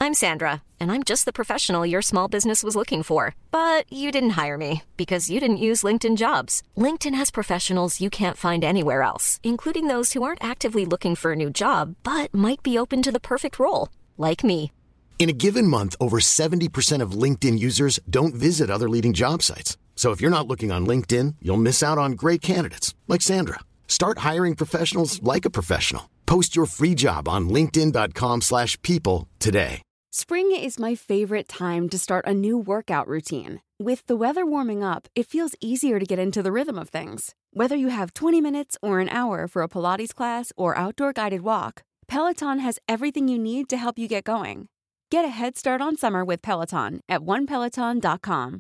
I'm Sandra, and I'm just the professional your small business was looking for. But you didn't hire me because you didn't use LinkedIn Jobs. LinkedIn has professionals you can't find anywhere else, including those who aren't actively looking for a new job, but might be open to the perfect role, like me. In a given month, over 70% of LinkedIn users don't visit other leading job sites. So if you're not looking on LinkedIn, you'll miss out on great candidates like Sandra. Start hiring professionals like a professional. Post your free job on linkedin.com/people today. Spring is my favorite time to start a new workout routine. With the weather warming up, it feels easier to get into the rhythm of things. Whether you have 20 minutes or an hour for a Pilates class or outdoor guided walk, Peloton has everything you need to help you get going. Get a head start on summer with Peloton at onepeloton.com.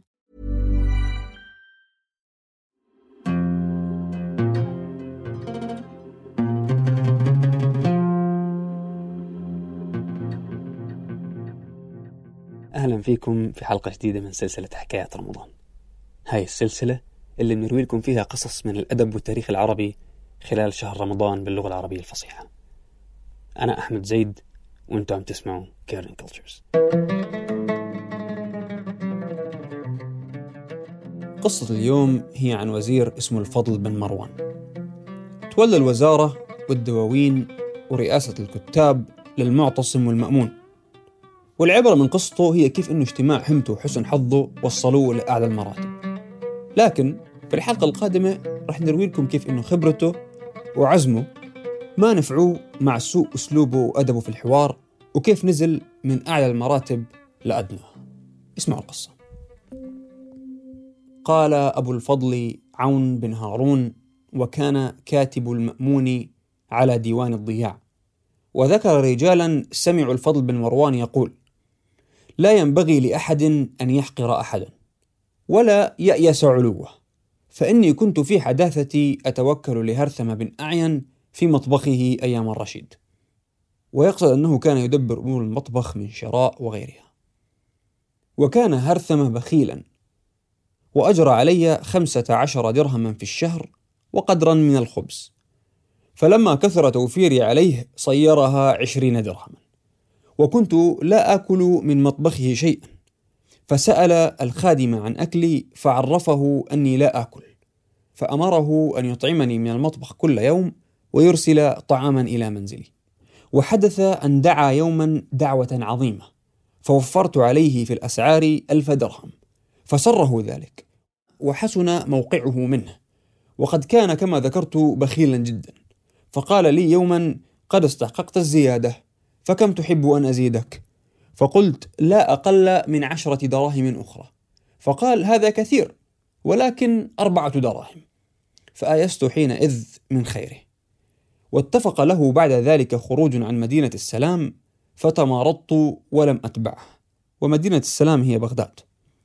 أهلا فيكم في حلقة جديدة من سلسلة حكايات رمضان. هاي السلسلة اللي بنروي لكم فيها قصص من الأدب والتاريخ العربي خلال شهر رمضان باللغة العربية الفصيحة. أنا أحمد زيد وأنتم عم تسمعوا كيرن كولتشرز. قصة اليوم هي عن وزير اسمه الفضل بن مروان. تولى الوزارة والدواوين ورئاسة الكتاب للمعتصم والمأمون، والعبرة من قصته هي كيف إنه اجتماع همته وحسن حظه وصلوه لأعلى المراتب. لكن في الحلقة القادمة رح نروي لكم كيف إنه خبرته وعزمه ما نفعوه مع سوء أسلوبه وأدبه في الحوار، وكيف نزل من أعلى المراتب لأدنى. اسمعوا القصة. قال أبو الفضل عون بن هارون، وكان كاتب المأمون على ديوان الضياع، وذكر رجالا سمعوا الفضل بن مروان يقول: لا ينبغي لأحد أن يحقر أحدا ولا يأيس علوه، فإني كنت في حداثتي أتوكل لهرثم بن أعين في مطبخه أيام الرشيد. ويقصد أنه كان يدبر أمور المطبخ من شراء وغيرها. وكان هرثم بخيلا، وأجرى علي 15 درهما في الشهر وقدرا من الخبز، فلما كثر توفيري عليه صيرها 20 درهما، وكنت لا آكل من مطبخه شيئا، فسأل الخادم عن أكلي فعرفه أني لا آكل، فأمره أن يطعمني من المطبخ كل يوم ويرسل طعاما إلى منزلي. وحدث أن دعا يوما دعوة عظيمة، فوفرت عليه في الأسعار 1000 درهم، فسره ذلك وحسن موقعه منه، وقد كان كما ذكرت بخيلا جدا. فقال لي يوما: قد استحققت الزيادة، فكم تحب أن أزيدك؟ فقلت: لا أقل من 10 دراهم أخرى. فقال: هذا كثير، ولكن 4 دراهم. فآيست حينئذ من خيره. واتفق له بعد ذلك خروج عن مدينة السلام، فتمارضت ولم أتبعه، ومدينة السلام هي بغداد.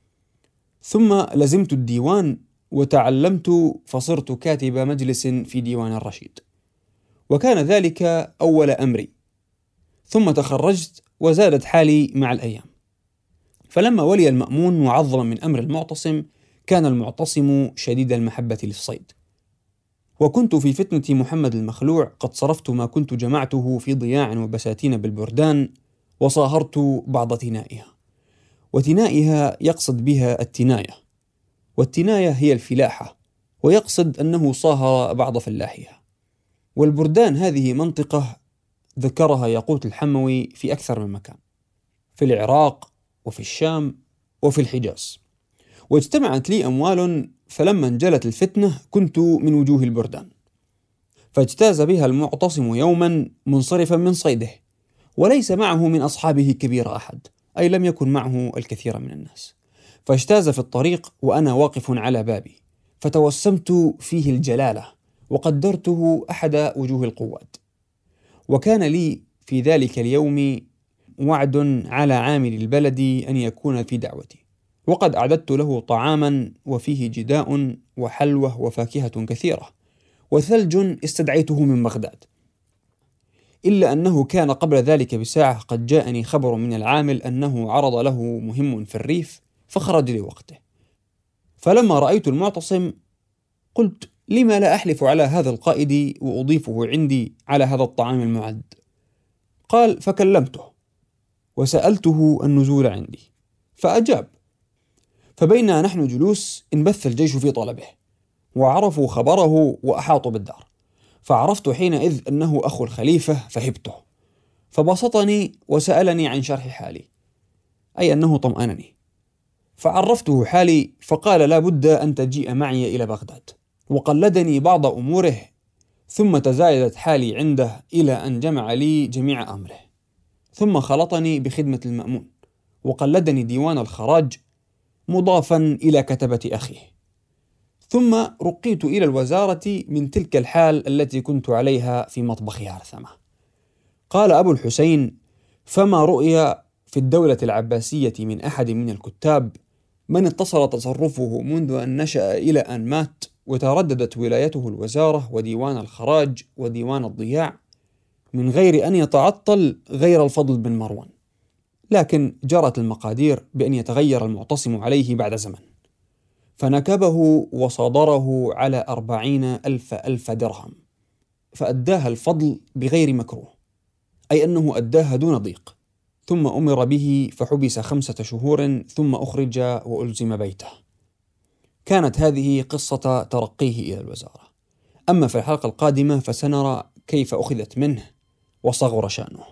ثم لزمت الديوان وتعلمت، فصرت كاتب مجلس في ديوان الرشيد، وكان ذلك أول أمري. ثم تخرجت وزادت حالي مع الأيام. فلما ولي المأمون معظما من أمر المعتصم، كان المعتصم شديد المحبة للصيد، وكنت في فتنة محمد المخلوع قد صرفت ما كنت جمعته في ضياع وبساتين بالبردان، وصاهرت بعض تنائها. وتنائها يقصد بها التناية، والتناية هي الفلاحة، ويقصد أنه صاهر بعض فلاحها. والبردان هذه منطقة ذكرها ياقوت الحموي في أكثر من مكان، في العراق وفي الشام وفي الحجاز. واجتمعت لي أموال، فلما انجلت الفتنة كنت من وجوه البردان. فاجتاز بها المعتصم يوما منصرفا من صيده، وليس معه من أصحابه كبير أحد، أي لم يكن معه الكثير من الناس. فاجتاز في الطريق وأنا واقف على بابي، فتوسمت فيه الجلالة وقدرته أحد وجوه القواد. وكان لي في ذلك اليوم وعد على عامل البلد أن يكون في دعوتي، وقد أعددت له طعاما وفيه جداء وحلوة وفاكهة كثيرة وثلج استدعيته من بغداد. إلا أنه كان قبل ذلك بساعة قد جاءني خبر من العامل أنه عرض له مهم في الريف، فخرج لوقته. فلما رأيت المعتصم قلت: لما لا أحلف على هذا القائد وأضيفه عندي على هذا الطعام المعد؟ قال: فكلمته، وسألته النزول عندي فأجاب. فبينما نحن جلوس انبث الجيش في طلبه وعرفوا خبره وأحاطوا بالدار، فعرفت حينئذ أنه أخو الخليفة فهبته، فبسطني وسألني عن شرح حالي، أي أنه طمأنني، فعرفته حالي فقال لا بد أن تجيء معي إلى بغداد، وقلدني بعض أموره، ثم تزايدت حالي عنده إلى أن جمع لي جميع أمره، ثم خلطني بخدمة المأمون وقلدني ديوان الخراج مضافا إلى كتبة أخيه، ثم رقيت إلى الوزارة من تلك الحال التي كنت عليها في مطبخ هرثمة. قال أبو الحسين: فما رؤي في الدولة العباسية من أحد من الكتاب من اتصل تصرفه منذ أن نشأ إلى أن مات وترددت ولايته الوزارة وديوان الخراج وديوان الضياع من غير أن يتعطل غير الفضل بن مروان، لكن جرت المقادير بأن يتغير المعتصم عليه بعد زمن، فنكبه وصادره على 40,000 درهم، فأداها الفضل بغير مكروه، أي أنه أداها دون ضيق، ثم أمر به فحبس 5 شهور ثم أخرج وألزم بيته. كانت هذه قصة ترقيه إلى الوزارة. أما في الحلقة القادمة فسنرى كيف أخذت منه وصغر شأنه.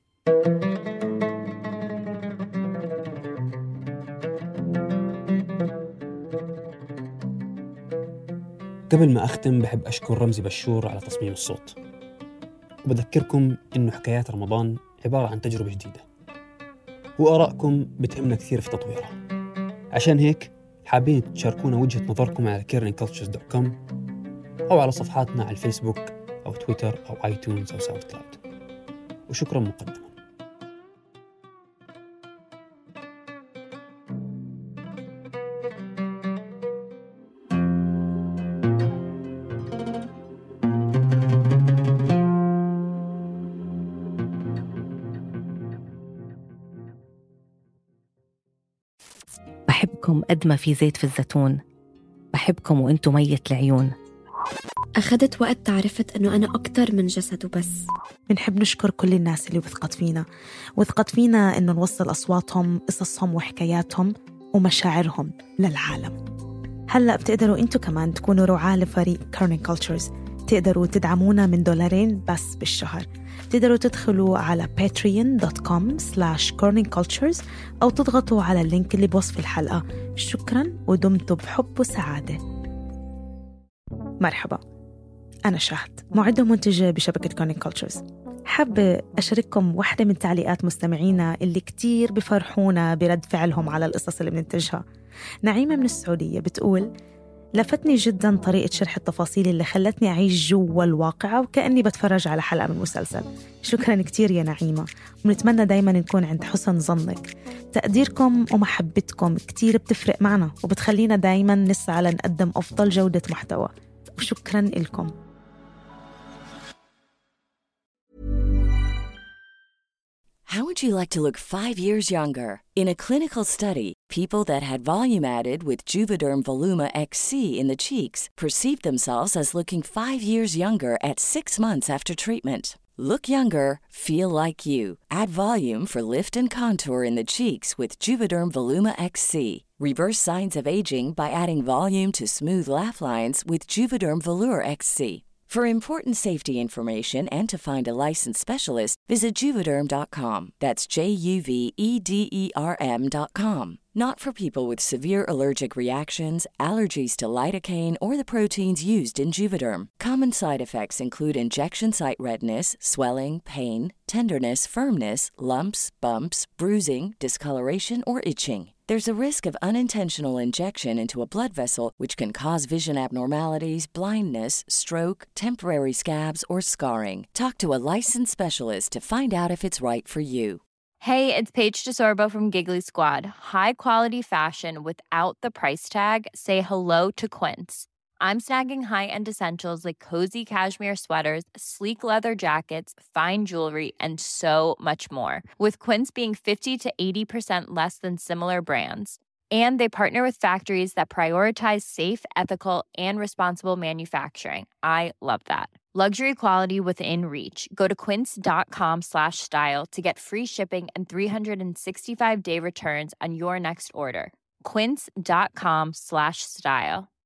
قبل ما أختم بحب أشكر رمزي بشور على تصميم الصوت، وبذكركم إنه حكايات رمضان عبارة عن تجربة جديدة، وآرائكم بتهمنا كثير في تطويرها. عشان هيك حابين تشاركونا وجهة نظركم على caringcultures.com أو على صفحاتنا على الفيسبوك أو تويتر أو آيتونز أو ساوند كلاود. وشكرا مقدما. بحبكم قد ما في زيت في الزيتون، بحبكم وانتم ميت العيون. أخذت وقت تعرفت أنه أنا أكتر من جسد وبس. بنحب نشكر كل الناس اللي وثقت فينا إنه نوصل أصواتهم، قصصهم وحكاياتهم ومشاعرهم للعالم. هلأ بتقدروا انتو كمان تكونوا رعاة لفريق Caring Cultures. تقدروا تدعمونا من $2 بس بالشهر. تقدروا تدخلوا على patreon.com/caringcultures أو تضغطوا على اللينك اللي بوصف الحلقة. شكراً ودمتوا بحب وسعادة. مرحبا، أنا شهد، معدة ومنتجة بشبكة Caring Cultures. حابة أشارككم واحدة من تعليقات مستمعينا اللي كتير بفرحونا برد فعلهم على القصص اللي بننتجها. نعيمة من السعودية بتقول: لفتني جداً طريقة شرح التفاصيل اللي خلتني أعيش جوا الواقعة وكأني بتفرج على حلقة من مسلسل. شكراً كتير يا نعيمة، ونتمنى دايماً نكون عند حسن ظنك. تقديركم ومحبتكم كتير بتفرق معنا وبتخلينا دايماً نسعى لنقدم أفضل جودة محتوى، وشكراً لكم. How would you like to look 5 years younger? In a clinical study, people that had volume added with Juvederm Voluma XC in the cheeks perceived themselves as looking 5 years younger at 6 months after treatment. Look younger, feel like you. Add volume for lift and contour in the cheeks with Juvederm Voluma XC. Reverse signs of aging by adding volume to smooth laugh lines with Juvederm Volure XC. For important safety information and to find a licensed specialist, visit Juvederm.com. That's JUVEDERM.com. Not for people with severe allergic reactions, allergies to lidocaine, or the proteins used in Juvederm. Common side effects include injection site redness, swelling, pain, tenderness, firmness, lumps, bumps, bruising, discoloration, or itching. There's a risk of unintentional injection into a blood vessel, which can cause vision abnormalities, blindness, stroke, temporary scabs, or scarring. Talk to a licensed specialist to find out if it's right for you. Hey, it's Paige DeSorbo from Giggly Squad. High quality fashion without the price tag. Say hello to Quince. I'm snagging high-end essentials like cozy cashmere sweaters, sleek leather jackets, fine jewelry, and so much more. With Quince being 50 to 80% less than similar brands. And they partner with factories that prioritize safe, ethical, and responsible manufacturing. I love that. Luxury quality within reach. Go to quince.com/style to get free shipping and 365-day returns on your next order. Quince.com/style.